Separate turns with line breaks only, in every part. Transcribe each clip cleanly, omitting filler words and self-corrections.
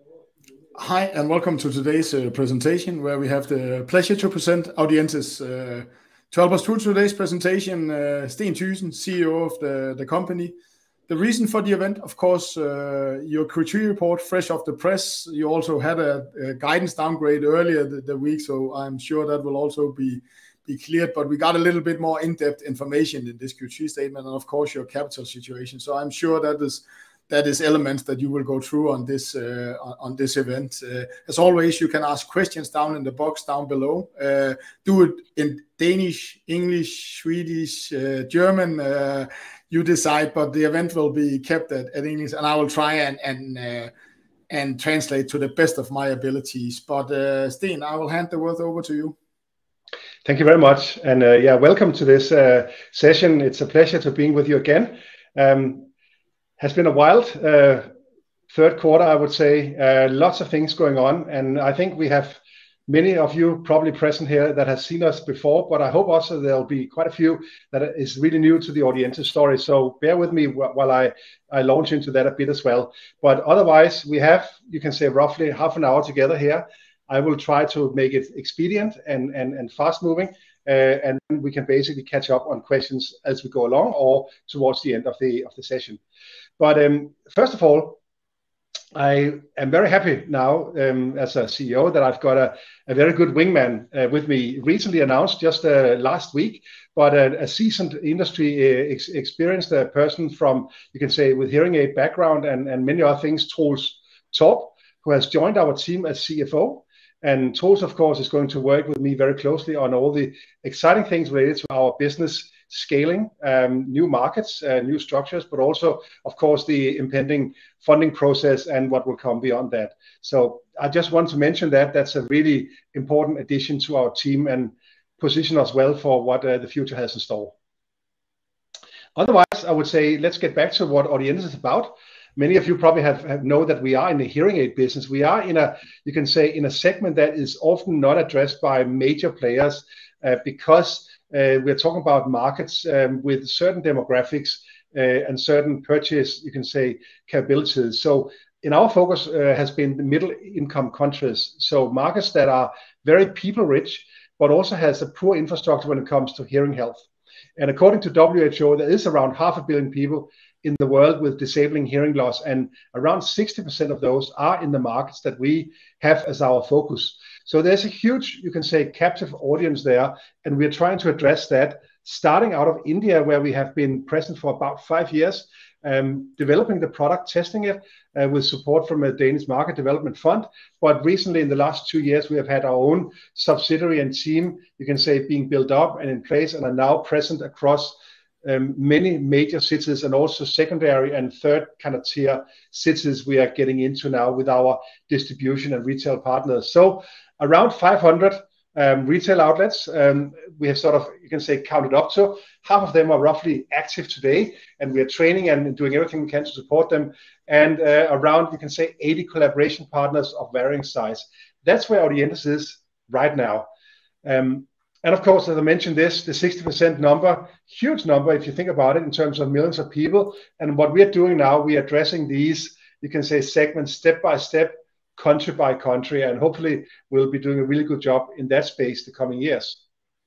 Hi, and welcome to today's presentation, where we have the pleasure to present Audientes. To help us through today's presentation, Steen Thygesen, CEO of the company. The reason for the event, of course, your Q3 report, fresh off the press. You also had a guidance downgrade earlier the week, so I'm sure that will also be cleared. But we got a little bit more in-depth information in this Q3 statement, and of course your capital situation. So I'm sure that is elements that you will go through on this event. As always, you can ask questions down in the box down below. Do it in Danish, English, Swedish, German. You decide, but the event will be kept at English, and I will try and translate to the best of my abilities. But Steen, I will hand the word over to you.
Thank you very much, and welcome to this session. It's a pleasure to be with you again. Has been a wild third quarter, I would say. Lots of things going on, and I think we have many of you probably present here that have seen us before, but I hope also there'll be quite a few that is really new to the Audientes story. So bear with me while I launch into that a bit as well. But otherwise, we have, you can say, roughly half an hour together here. I will try to make it expedient and fast moving, and we can basically catch up on questions as we go along or towards the end of the session. But first of all, I am very happy now as a CEO that I've got a very good wingman with me. Recently announced just last week, but a seasoned industry experienced person from, you can say, with hearing aid background and many other things, Troels Torp, who has joined our team as CFO. And Troels, of course, is going to work with me very closely on all the exciting things related to our business scaling, new markets, new structures, but also, of course, the impending funding process and what will come beyond that. So I just want to mention that that's a really important addition to our team and position us well for what the future has in store. Otherwise, I would say let's get back to what Audientes is about. Many of you probably have know that we are in the hearing aid business. We are in a, you can say, in a segment that is often not addressed by major players because we're talking about markets with certain demographics and certain purchase, you can say, capabilities. So in our focus has been the middle income countries. So markets that are very people rich, but also has a poor infrastructure when it comes to hearing health. And according to WHO, there is around 500 million people in the world with disabling hearing loss, and around 60% of those are in the markets that we have as our focus. So there's a huge, you can say, captive audience there, and we're trying to address that, starting out of India, where we have been present for about 5 years, developing the product, testing it with support from a Danish market development fund. But recently, in the last 2 years, we have had our own subsidiary and team, you can say, being built up and in place, and are now present across many major cities, and also secondary and third kind of tier cities we are getting into now with our distribution and retail partners. So around 500 retail outlets we have sort of, you can say, counted up to. Half of them are roughly active today, and we are training and doing everything we can to support them. And around, you can say, 80 collaboration partners of varying size. That's where Audientes is right now. And of course, as I mentioned this, the 60% number, huge number if you think about it in terms of millions of people. And what we are doing now, we are addressing these, you can say, segments step by step, country by country, and hopefully we'll be doing a really good job in that space the coming years.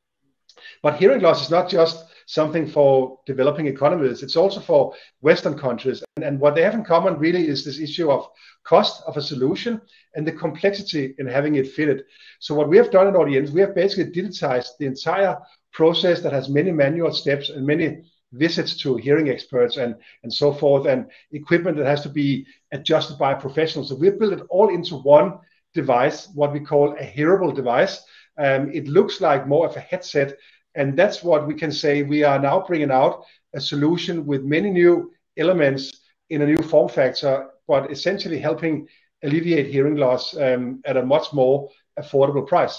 But hearing loss is not just something for developing economies, it's also for Western countries. And what they have in common really is this issue of cost of a solution and the complexity in having it fitted. So what we have done at Audientes, we have basically digitized the entire process that has many manual steps and many visits to hearing experts and so forth, and equipment that has to be adjusted by professionals. So we've built it all into one device, what we call a hearable device. It looks like more of a headset, and that's what we can say we are now bringing out, a solution with many new elements in a new form factor, but essentially helping alleviate hearing loss at a much more affordable price.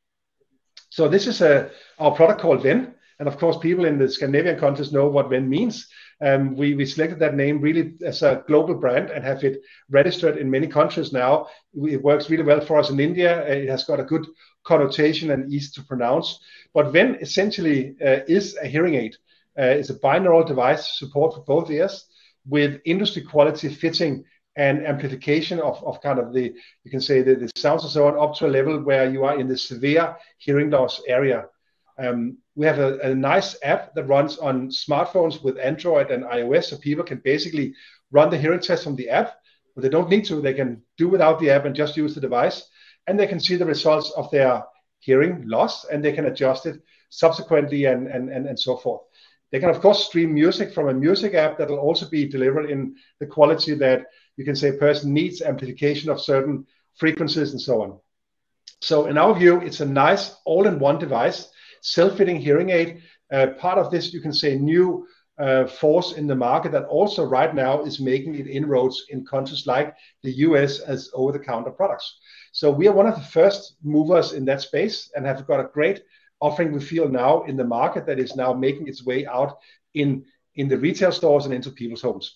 So this is our product called Ven, and of course people in the Scandinavian countries know what Ven means. We selected that name really as a global brand and have it registered in many countries now. It works really well for us in India. It has got a good connotation and easy to pronounce. But Ven essentially is a hearing aid. It's a binaural device, support for both ears, with industry quality fitting and amplification of kind of the, you can say the sounds and so on, up to a level where you are in the severe hearing loss area. We have a nice app that runs on smartphones with Android and iOS, so people can basically run the hearing test from the app, but they don't need to. They can do without the app and just use the device, and they can see the results of their hearing loss, and they can adjust it subsequently and so forth. They can, of course, stream music from a music app that will also be delivered in the quality that you can say a person needs, amplification of certain frequencies and so on. So in our view, it's a nice all-in-one device, self-fitting hearing aid, part of this, you can say, new force in the market that also right now is making it inroads in countries like the US as over-the-counter products. So we are one of the first movers in that space and have got a great offering, we feel, now in the market that is now making its way out in the retail stores and into people's homes.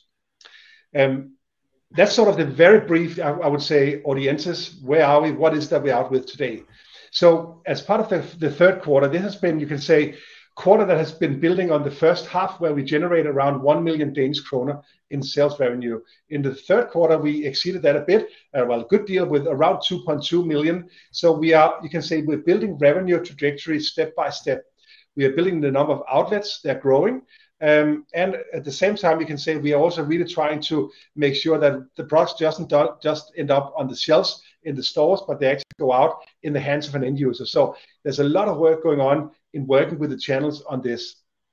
That's sort of the very brief, I would say, Audientes. Where are we? What is that we're out with today? So as part of the third quarter, this has been, you can say, quarter that has been building on the first half, where we generate around 1 million Danish kroner in sales revenue. In the third quarter, we exceeded that a bit, well, a good deal, with around 2.2 million. So we are, you can say, we're building revenue trajectory step by step. We are building the number of outlets, they're growing. And at the same time, you can say we are also really trying to make sure that the products doesn't just end up on the shelves in the stores, but they actually go out in the hands of an end user. So there's a lot of work going on in working with the channels on this.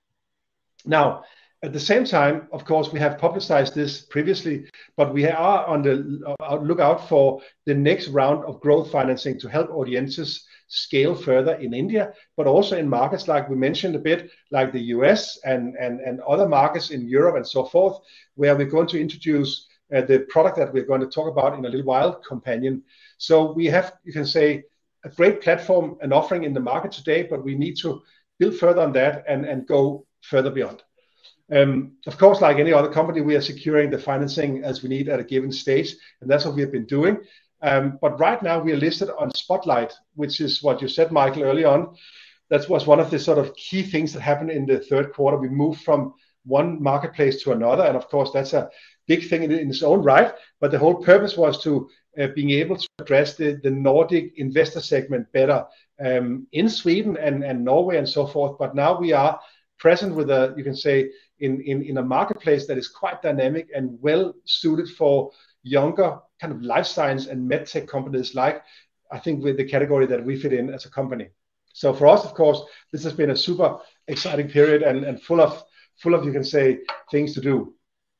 Now, at the same time, of course, we have publicized this previously, but we are on the lookout for the next round of growth financing to help Audientes scale further in India, but also in markets like we mentioned a bit, like the US and other markets in Europe and so forth, where we're going to introduce the product that we're going to talk about in a little while, Companion. So we have, you can say, a great platform and offering in the market today, but we need to build further on that and go further beyond. Of course, like any other company, we are securing the financing as we need at a given stage, and that's what we have been doing. But right now we are listed on Spotlight, which is what you said, Michael, early on. That was one of the sort of key things that happened in the third quarter. We moved from one marketplace to another, and of course that's a big thing in its own right. But the whole purpose was to being able to address the Nordic investor segment better in Sweden and Norway and so forth. But now we are present with a, you can say, in a marketplace that is quite dynamic and well suited for younger kind of life science and medtech companies, like I think with the category that we fit in as a company. So for us, of course, this has been a super exciting period and full of, you can say, things to do.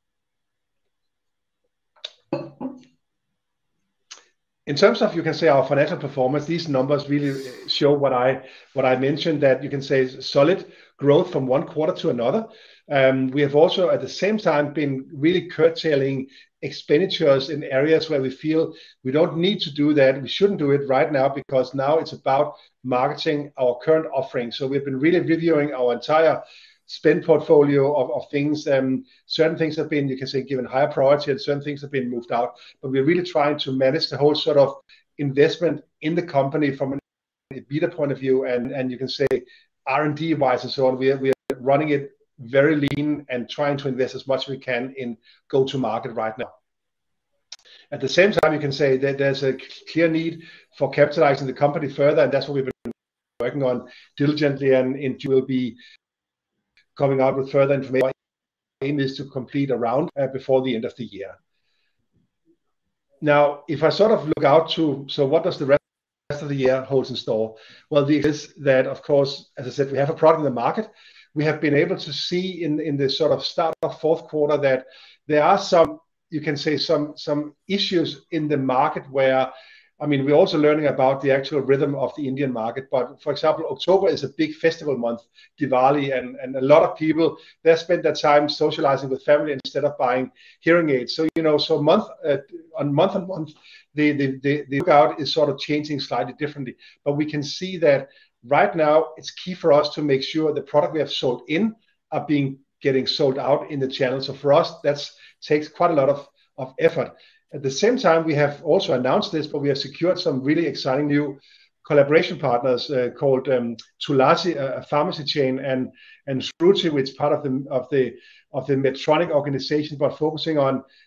In terms of, you can say, our financial performance, these numbers really show what I mentioned, that you can say solid growth from one quarter to another. We have also at the same time been really curtailing expenditures in areas where we feel we don't need to do that. We shouldn't do it right now, because now it's about marketing our current offering. So we've been really reviewing our entire spend portfolio of things. Certain things have been, you can say, given higher priority, and certain things have been moved out. But we're really trying to manage the whole sort of investment in the company from an EBITDA point of view, and you can say R&D wise and so on. We are running it very lean and trying to invest as much as we can in go-to-market right now. At the same time, you can say that there's a clear need for capitalizing the company further, and that's what we've been working on diligently, and will be coming out with further information. Our aim is to complete a round before the end of the year. Now, if I sort of look out to, so what does the rest of the year hold in store? Well, the is that, of course, as I said, we have a product in the market. We have been able to see in the sort of start of fourth quarter that there are some, you can say, some issues in the market where, I mean, we're also learning about the actual rhythm of the Indian market. But for example, October is a big festival month, Diwali, and a lot of people, they spend their time socializing with family instead of buying hearing aids. So, you know, so month on month, the lookout is sort of changing slightly differently. But we can see that right now it's key for us to make sure the product we have sold in are getting sold out in the channel. So for us, that takes quite a lot of effort. At the same time, we have also announced this, but we have secured some really exciting new collaboration partners called Tulasi, a pharmacy chain, and Shruti, which is part of the Medtronic organization, but focusing on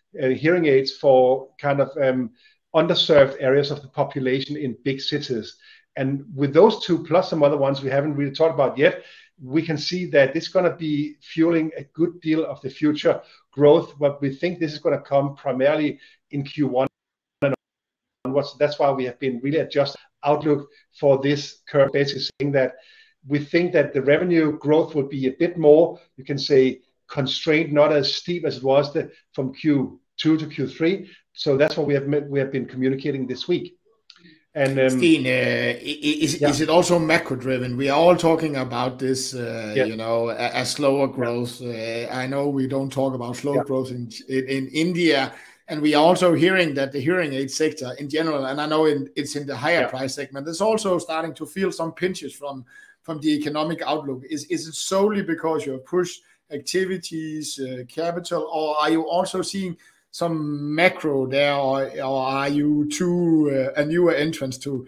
hearing aids for kind of underserved areas of the population in big cities. And with those two, plus some other ones we haven't really talked about yet, we can see that it's going to be fueling a good deal of the future growth. But we think this is going to come primarily in Q1 and onwards. That's why we have been really adjusting outlook for this curve, basically saying that we think that the revenue growth will be a bit more, you can say, constrained, not as steep as it was from Q2 to Q3. So that's what we have been communicating this week. And
Steen, is it also macro driven? We are all talking about this, you know, a slower growth. I know we don't talk about slow growth in India, and we are also hearing that the hearing aid sector in general, and I know it's in the higher price segment, is also starting to feel some pinches from the economic outlook. Is it solely because you have pushed activities, capital, or are you also seeing some macro there, or are you too a newer entrance to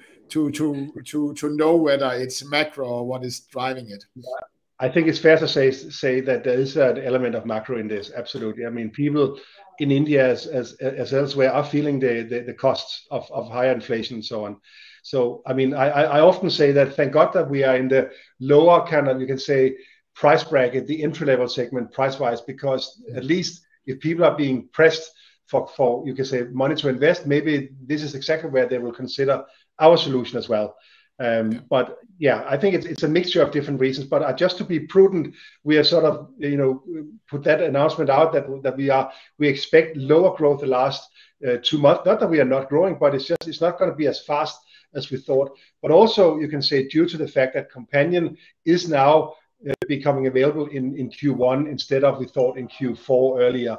know whether it's macro or what is driving it?
I think it's fair to say that there is an element of macro in this. Absolutely. I mean, people in India as elsewhere are feeling the costs of higher inflation and so on. So, I mean, I often say that thank God that we are in the lower kind of, you can say, price bracket, the entry level segment price wise, because at least if people are being pressed for you can say money to invest, maybe this is exactly where they will consider our solution as well. But yeah, I think it's a mixture of different reasons. But just to be prudent, we are sort of, you know, put that announcement out that we expect lower growth the last 2 months. Not that we are not growing, but it's not going to be as fast as we thought. But also you can say due to the fact that Companion is now becoming available in Q1 instead of we thought in Q4 earlier.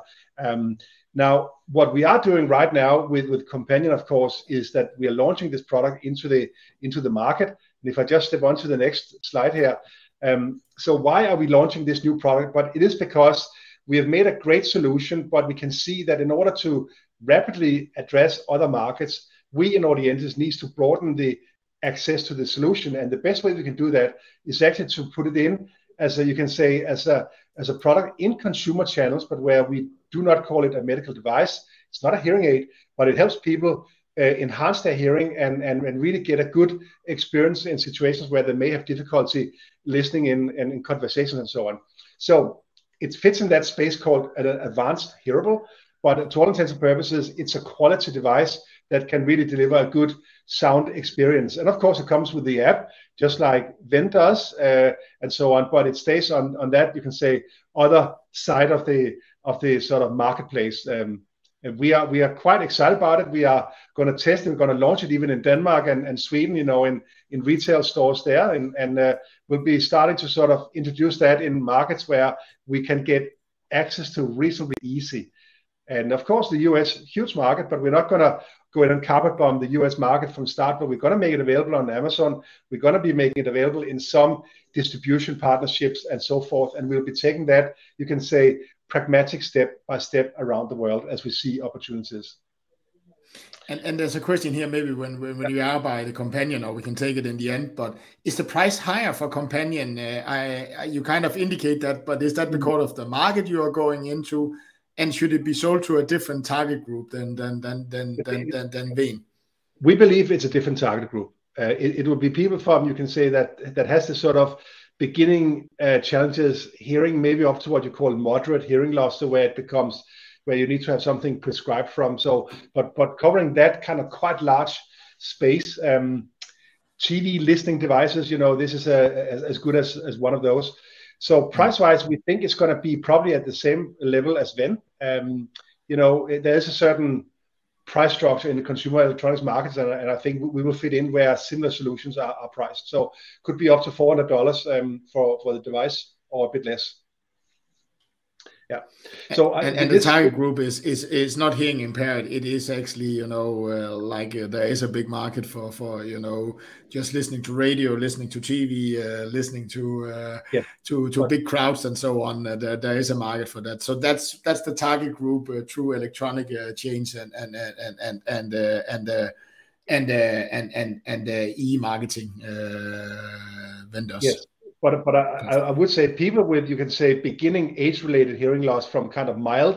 Now, what we are doing right now with Companion, of course, is that we are launching this product into the market. And if I just step on to the next slide here. So why are we launching this new product? But it is because we have made a great solution, but we can see that in order to rapidly address other markets, we in Audientes needs to broaden the access to the solution. And the best way we can do that is actually to put it in as a, you can say, as a product in consumer channels, but where we do not call it a medical device. It's not a hearing aid, but it helps people enhance their hearing and really get a good experience in situations where they may have difficulty listening in conversations and so on. So it fits in that space called an advanced hearable, but to all intents and purposes, it's a quality device that can really deliver a good sound experience. And of course, it comes with the app, just like Ven does, and so on. But it stays on that, you can say, other side of the sort of marketplace. And we are quite excited about it. We are going to test it. We're going to launch it even in Denmark and Sweden, you know, in retail stores there. And we'll be starting to sort of introduce that in markets where we can get access to reasonably easy. And of course, the US, huge market, but we're not going to go in and carpet bomb the US market from start, but we're going to make it available on Amazon. We're going to be making it available in some distribution partnerships and so forth. And we'll be taking that, you can say, pragmatic step by step around the world as we see opportunities.
And there's a question here, maybe when you are by the Companion, or we can take it in the end, but is the price higher for Companion? You kind of indicate that, but is that because of the market you are going into? And should it be sold to a different target group than Ven?
We believe it's a different target group. It will be people from, you can say, that has this sort of beginning challenges hearing, maybe up to what you call moderate hearing loss, so where you need to have something prescribed from. So, but covering that kind of quite large space, TV listening devices, you know, this is as good as one of those. So price-wise, we think it's going to be probably at the same level as Ven. You know, there is a certain price structure in the consumer electronics markets, and I think we will fit in where similar solutions are priced. So could be up to $400 for the device, or a bit less. Yeah. So
and the target group is not hearing impaired. It is actually, you know, like there is a big market for you know, just listening to radio, listening to TV, listening to big crowds and so on. There is a market for that. So that's the target group through electronic chains and e-marketing vendors.
Yes. But I would say people with, you can say, beginning age-related hearing loss from kind of mild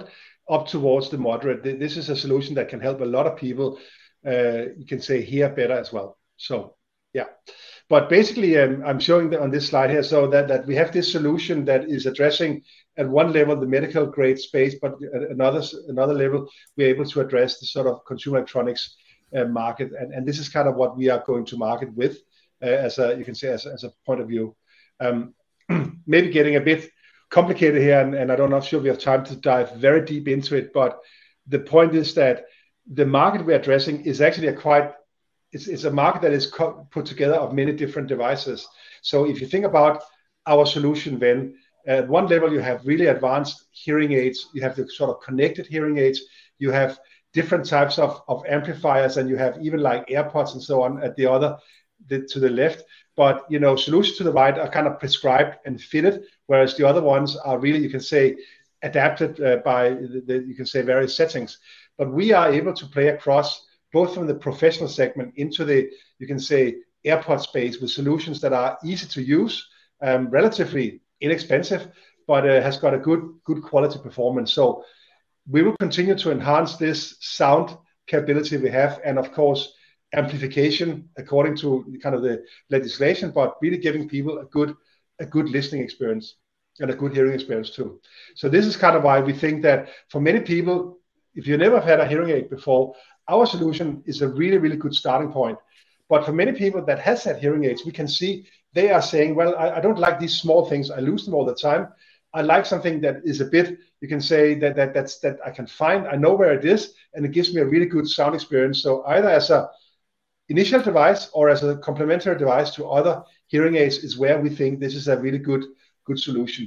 up towards the moderate. This is a solution that can help a lot of people, you can say, hear better as well. So yeah, but basically I'm showing on this slide here so that we have this solution that is addressing at one level the medical grade space, but at another level we're able to address the sort of consumer electronics market, and this is kind of what we are going to market with as a, you can say, as a point of view. Maybe getting a bit complicated here, and I don't know if we have time to dive very deep into it, but the point is that the market we're addressing is actually it's a market that is put together of many different devices. So if you think about our solution, then at one level you have really advanced hearing aids, you have the sort of connected hearing aids, you have different types of amplifiers, and you have even like AirPods and so on at the other, to the left. But you know, solutions to the right are kind of prescribed and fitted, whereas the other ones are really, you can say, adapted by you can say various settings. But we are able to play across both from the professional segment into the, you can say, AirPod space with solutions that are easy to use, relatively inexpensive, but has got a good quality performance. So we will continue to enhance this sound capability we have, and of course amplification according to kind of the legislation, but really giving people a good listening experience and a good hearing experience too. So this is kind of why we think that for many people, if you never had a hearing aid before, our solution is a really, really good starting point. But for many people that has had hearing aids, we can see they are saying, well, I don't like these small things. I lose them all the time. I like something that is a bit, you can say that I can find, I know where it is, and it gives me a really good sound experience. So either as a initial device or as a complementary device to other hearing aids is where we think this is a really good solution.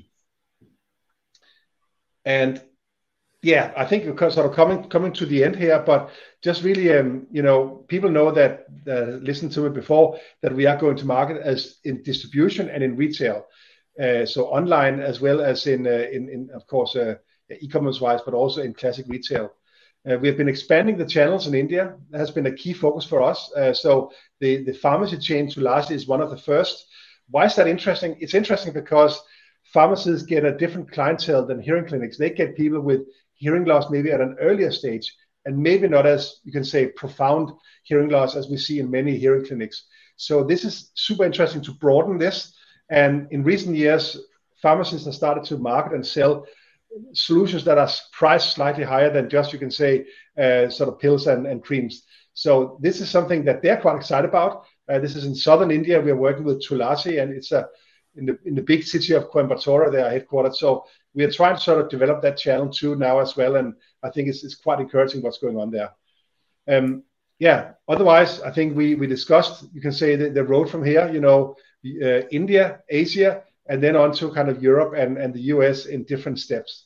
And yeah, I think we're sort of coming to the end here, but just really, you know, people know that listened to it before, that we are going to market as in distribution and in retail, so online as well as in of course e-commerce wise, but also in classic retail. We have been expanding the channels in India. That has been a key focus for us. So the pharmacy chain Tulasi is one of the first. Why is that interesting? It's interesting because pharmacies get a different clientele than hearing clinics. They get people with hearing loss maybe at an earlier stage, and maybe not as, you can say, profound hearing loss as we see in many hearing clinics. So this is super interesting to broaden this. And in recent years, pharmacists have started to market and sell solutions that are priced slightly higher than just, you can say, sort of pills and creams. So this is something that they're quite excited about. This is in southern India. We are working with Tulasi, and it's in the big city of Coimbatore. They are headquartered. So we are trying to sort of develop that channel too now as well. And I think it's quite encouraging what's going on there. Yeah. Otherwise, I think we discussed, you can say, the road from here. You know, India, Asia, and then on to kind of Europe and the US in different steps.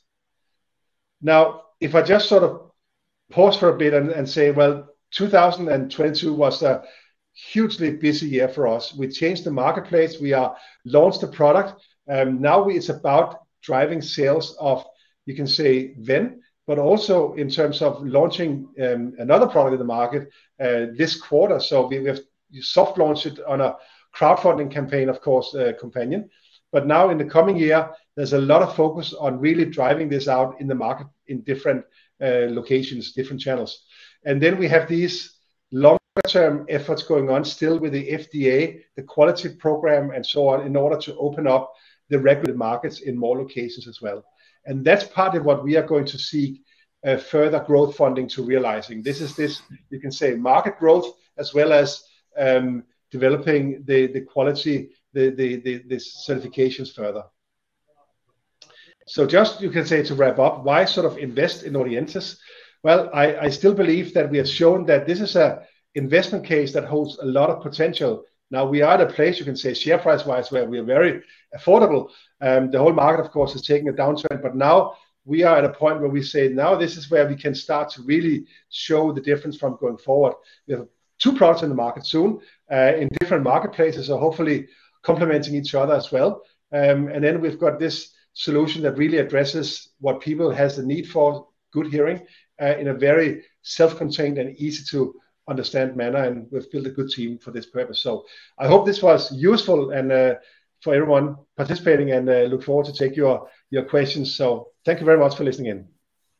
Now, if I just sort of pause for a bit and say, well, 2022 was a hugely busy year for us. We changed the marketplace. We launched the product. Now it's about driving sales of, you can say, Ven, but also in terms of launching another product in the market this quarter. So we have soft launched it on a crowdfunding campaign, of course, Companion. But now in the coming year, there's a lot of focus on really driving this out in the market in different locations, different channels. And then we have these longer-term efforts going on still with the FDA, the quality program, and so on, in order to open up the regulated markets in more locations as well. And that's part of what we are going to seek further growth funding to realizing. This is you can say, market growth, as well as developing the quality, the certifications further. So just, you can say, to wrap up, why sort of invest in Audientes? Well, I still believe that we have shown that this is a investment case that holds a lot of potential. Now we are at a place, you can say, share price wise, where we are very affordable. The whole market, of course, is taking a downturn, but now we are at a point where we say, now this is where we can start to really show the difference from going forward. We have 2 products in the market soon in different marketplaces, so hopefully complementing each other as well. And then we've got this solution that really addresses what people has the need for, good hearing, in a very self-contained and easy to understand manner, and we've built a good team for this purpose. So I hope this was useful and for everyone participating, and look forward to take your questions. So thank you very much for listening in.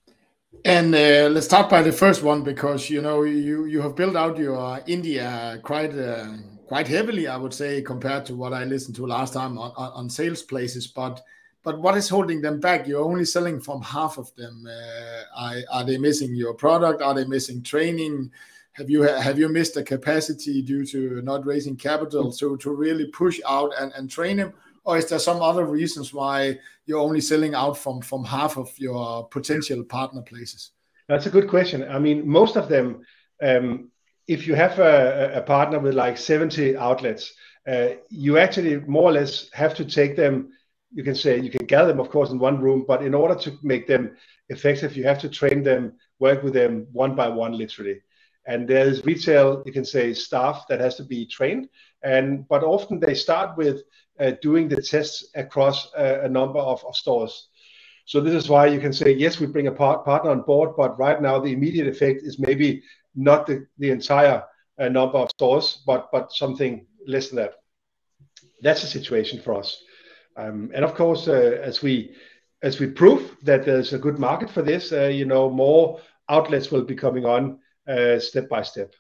And let's start by the first one, because you have built out your India quite heavily, I would say, compared to what I listened to last time on sales places. But what is holding them back? You're only selling from half of them. Are they missing your product? Are they missing training? Have you missed the capacity due to not raising capital to really push out and train them? Or is there some other reasons why you're only selling out from half of your potential partner places?
That's a good question. I mean, most of them, if you have a partner with like 70 outlets, you actually more or less have to take them. You can say you can gather them, of course, in one room, but in order to make them effective, you have to train them, work with them one by one, literally. And there's retail, you can say, staff that has to be trained. But often they start with doing the tests across a number of stores. So this is why you can say, yes, we bring a partner on board, but right now the immediate effect is maybe not the entire number of stores, but something less than that. That's the situation for us. And of course, as we prove that there's a good market for this, more outlets will be coming on step by step.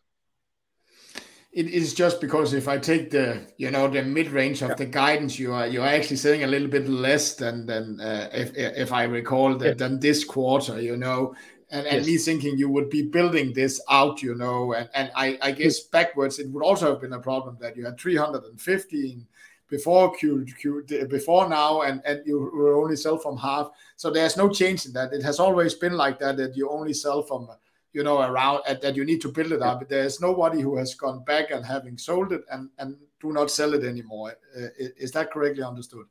It is just because if I take the mid-range of the guidance, you're actually saying a little bit less than if I recall than this quarter, and me thinking you would be building this out, and I guess backwards it would also have been a problem that you had 315 before before now, and you will only sell from half. So there's no change in that. It has always been like that you only sell from around that you need to build it up. There's nobody who has gone back and having sold it and do not sell it anymore. Is that correctly understood?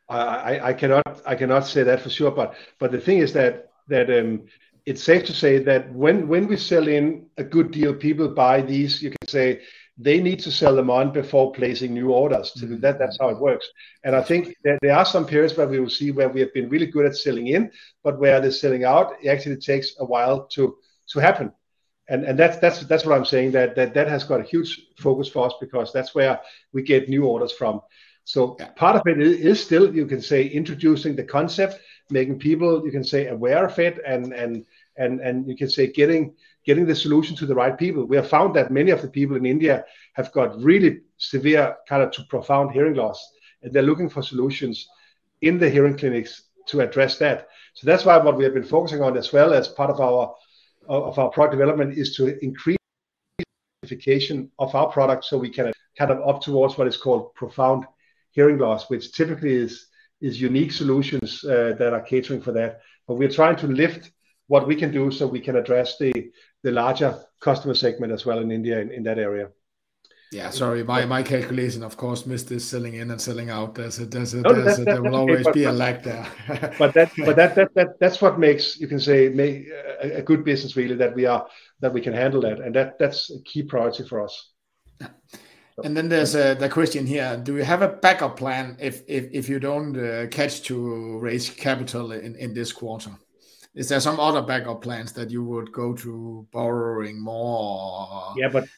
I cannot say that for sure, but the thing is that it's safe to say that when we sell in a good deal, people buy these. You can say they need to sell them on before placing new orders. That's how it works. And I think that there are some periods where we will see where we have been really good at selling in, but where the selling out, it actually takes a while to happen. And that's what I'm saying, that has got a huge focus for us, because that's where we get new orders from. So part of it is still, you can say, introducing the concept, making people, you can say, aware of it, and you can say getting the solution to the right people. We have found that many of the people in India have got really severe kind of to profound hearing loss, and they're looking for solutions in the hearing clinics to address that. So that's why what we have been focusing on, as well as part of our product development, is to increase the specification of our product, so we can kind of up towards what is called profound hearing loss, which typically is unique solutions that are catering for that. But we're trying to lift what we can do so we can address the larger customer segment as well in India in that area.
Yeah, sorry, my calculation, of course, missed this selling in and selling out. There will always be a lag there.
but that's what makes, you can say, a good business, really, that we can handle that, and that's a key priority for us.
Yeah. And then there's the question here: do you have a backup plan if you don't catch to raise capital in this quarter? Is there some other backup plans that you would go to borrowing more?
Yeah, but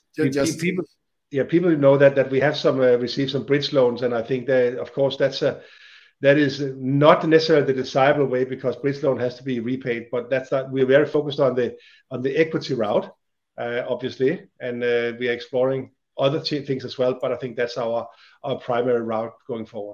people know that we have received some bridge loans, and I think that, of course, that is not necessarily the desirable way, because bridge loan has to be repaid. But we're very focused on the equity route, obviously, and we are exploring other things as well. But I think that's our primary route going forward.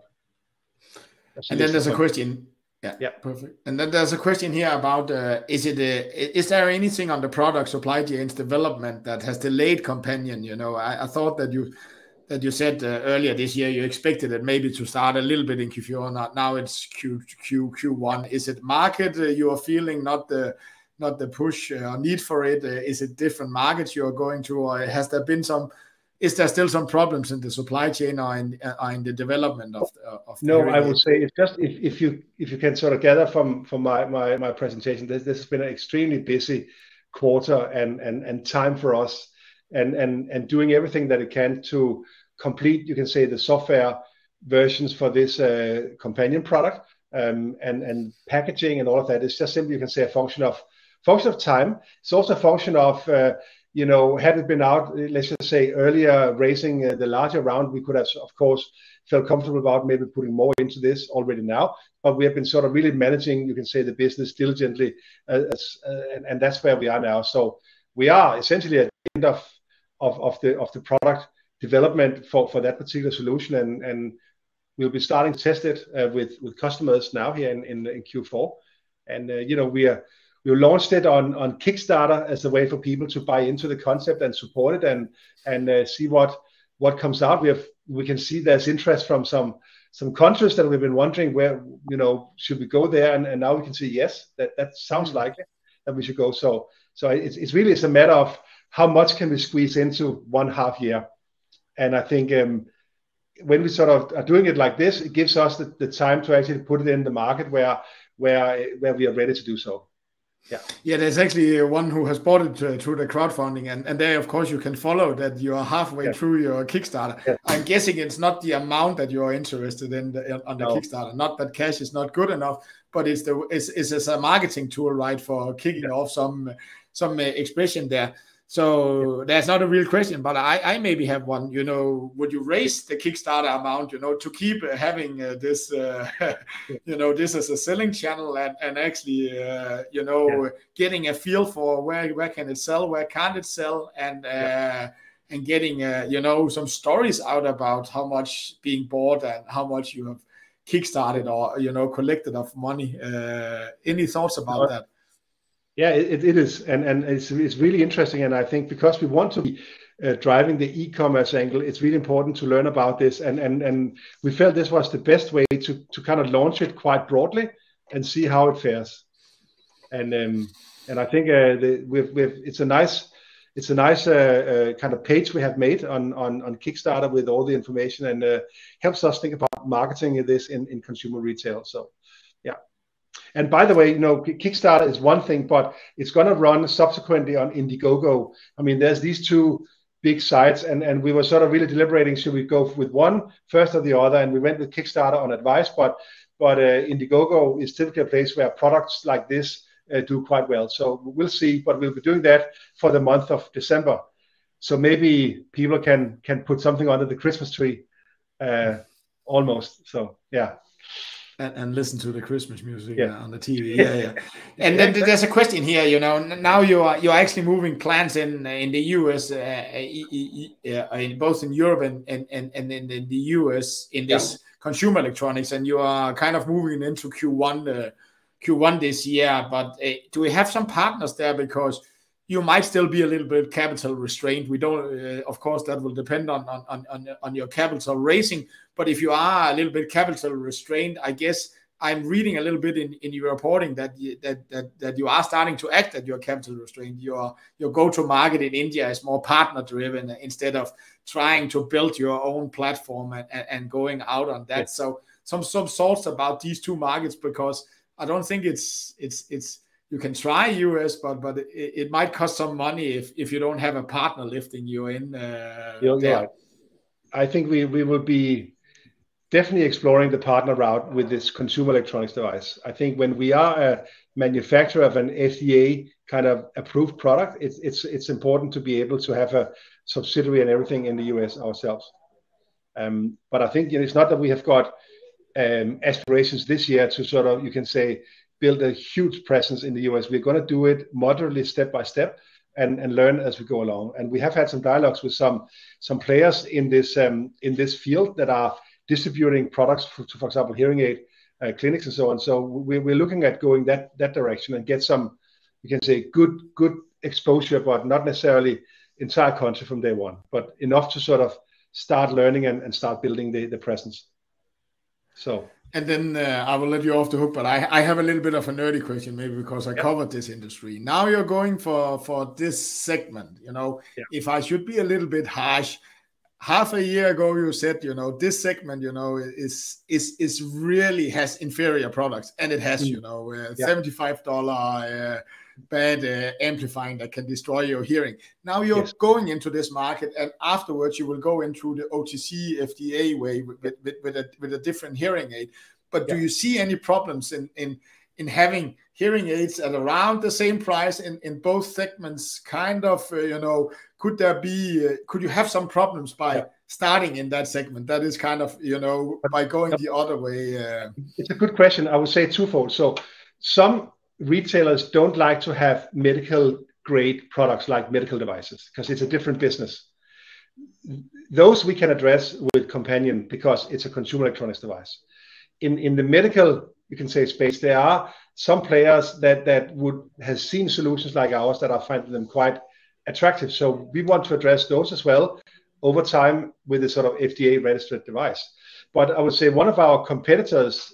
And then there's a question. Yeah, perfect. And then there's a question here about is there anything on the product supply chain's development that has delayed Companion? I thought that you said earlier this year you expected it maybe to start a little bit in Q4. Now it's Q1. Is it market you are feeling, not the push or need for it? Is it different markets you are going to, or has there been is there still some problems in the supply chain or in the development of
no, I would say it's just if you can sort of gather from my presentation, this has been an extremely busy quarter and time for us, and doing everything that it can to complete, you can say, the software versions for this Companion product, and packaging and all of that. It's just simply, you can say, a function of time. It's also a function of had it been out, let's just say earlier, raising the larger round, we could have, of course, felt comfortable about maybe putting more into this already now. But we have been sort of really managing, you can say, the business diligently, and that's where we are now. So we are essentially at the end of the product development for that particular solution, and we'll be starting to test it with customers now here in Q4. And we launched it on Kickstarter as a way for people to buy into the concept and support it and see what comes out. We can see there's interest from some countries that we've been wondering where, should we go there, and now we can see yes, that sounds likely that we should go. So it's really a matter of how much can we squeeze into 1.5 year. And I think when we sort of are doing it like this, it gives us the time to actually put it in the market where we are ready to do so.
Yeah, there's actually one who has bought it through the crowdfunding, and there, of course, you can follow that you are halfway through your Kickstarter. Yeah. I'm guessing it's not the amount that you are interested in on the Kickstarter. Not that cash is not good enough, but it's a marketing tool, right, for kicking off some expression there. So there's not a real question, but I maybe have one. Would you raise the Kickstarter amount, to keep having this, this as a selling channel and actually, getting a feel for where can it sell, where can't it sell, and getting, some stories out about how much being bought and how much you have kickstarted or, collected of money. Any thoughts about that?
Yeah, it is, and it's really interesting, and I think because we want to be driving the e-commerce angle, it's really important to learn about this, and we felt this was the best way to kind of launch it quite broadly and see how it fares. And I think it's a nice kind of page we have made on Kickstarter with all the information, and helps us think about marketing this in consumer retail. So yeah. And by the way, Kickstarter is one thing, but it's going to run subsequently on Indiegogo. I mean, there's these two big sites, and we were sort of really deliberating, should we go with one first or the other? And we went with Kickstarter on advice, but Indiegogo is typically a place where products like this do quite well. So we'll see, but we'll be doing that for the month of December. So maybe people can put something under the Christmas tree, almost. So yeah.
And listen to the Christmas music on the TV. Yeah. And then there's a question here. Now you're actually moving plants in the US, both in Europe and in the US in this consumer electronics, and you are kind of moving into Q1 this year. But do we have some partners there, because you might still be a little bit capital restrained? We don't, of course, that will depend on your capital raising. But if you are a little bit capital restrained, I guess I'm reading a little bit in your reporting that you are starting to act that you're capital restrained. Your go-to market in India is more partner driven instead of trying to build your own platform and going out on that. So some thoughts about these two markets, because I don't think it's you can try US, but it might cost some money if you don't have a partner lifting you in.
Right. I think we will be definitely exploring the partner route with this consumer electronics device. I think when we are a manufacturer of an FDA kind of approved product, it's important to be able to have a subsidiary and everything in the US ourselves. But I think it's not that we have got aspirations this year to sort of, you can say, build a huge presence in the US. We're going to do it moderately, step by step, and learn as we go along. And we have had some dialogues with some players in this field that are distributing products for example, hearing aid clinics and so on. So we're looking at going that direction and get some, you can say, good exposure, but not necessarily entire country from day one, but enough to sort of start learning and start building the presence. So.
And then I will let you off the hook, but I have a little bit of a nerdy question, maybe because I covered this industry. Now you're going for this segment. If I should be a little bit harsh, half a year ago you said, this segment, is really has inferior products, and it has, $75 bad amplifying that can destroy your hearing. Now you're going into this market, and afterwards you will go into the OTC FDA way with a different hearing aid. But do you see any problems in having hearing aids at around the same price in both segments, kind of, could you have some problems by starting in that segment? That is kind of, by going the other way.
It's a good question. I would say twofold. So some retailers don't like to have medical grade products like medical devices because it's a different business. Those we can address with Companion because it's a consumer electronics device. In the medical, you can say, space, there are some players that would have seen solutions like ours that are finding them quite attractive. So we want to address those as well over time with a sort of FDA registered device. But I would say one of our competitors,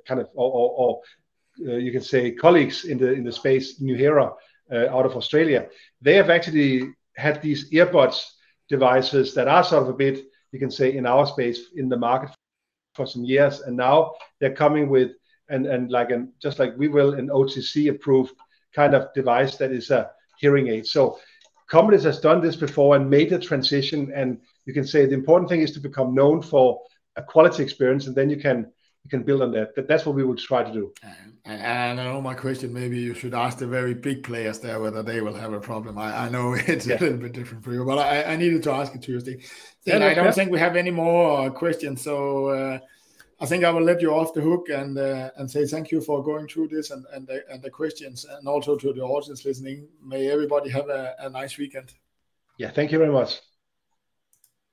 you can say colleagues in the space, Nuheara, out of Australia, they have actually had these earbuds devices that are sort of a bit, you can say, in our space in the market for some years, and now they're coming with just like we will, an OTC approved kind of device that is a hearing aid. So companies has done this before and made the transition, and you can say the important thing is to become known for a quality experience, and then you can build on that. That's what we will try to do.
And I know my question, maybe you should ask the very big players there whether they will have a problem. I know it's a little bit different for you, but I needed to ask it to you, Steen. I don't think we have any more questions, so I think I will let you off the hook and say thank you for going through this and the questions, and also to the audience listening. May everybody have a nice weekend.
Yeah, thank you very much.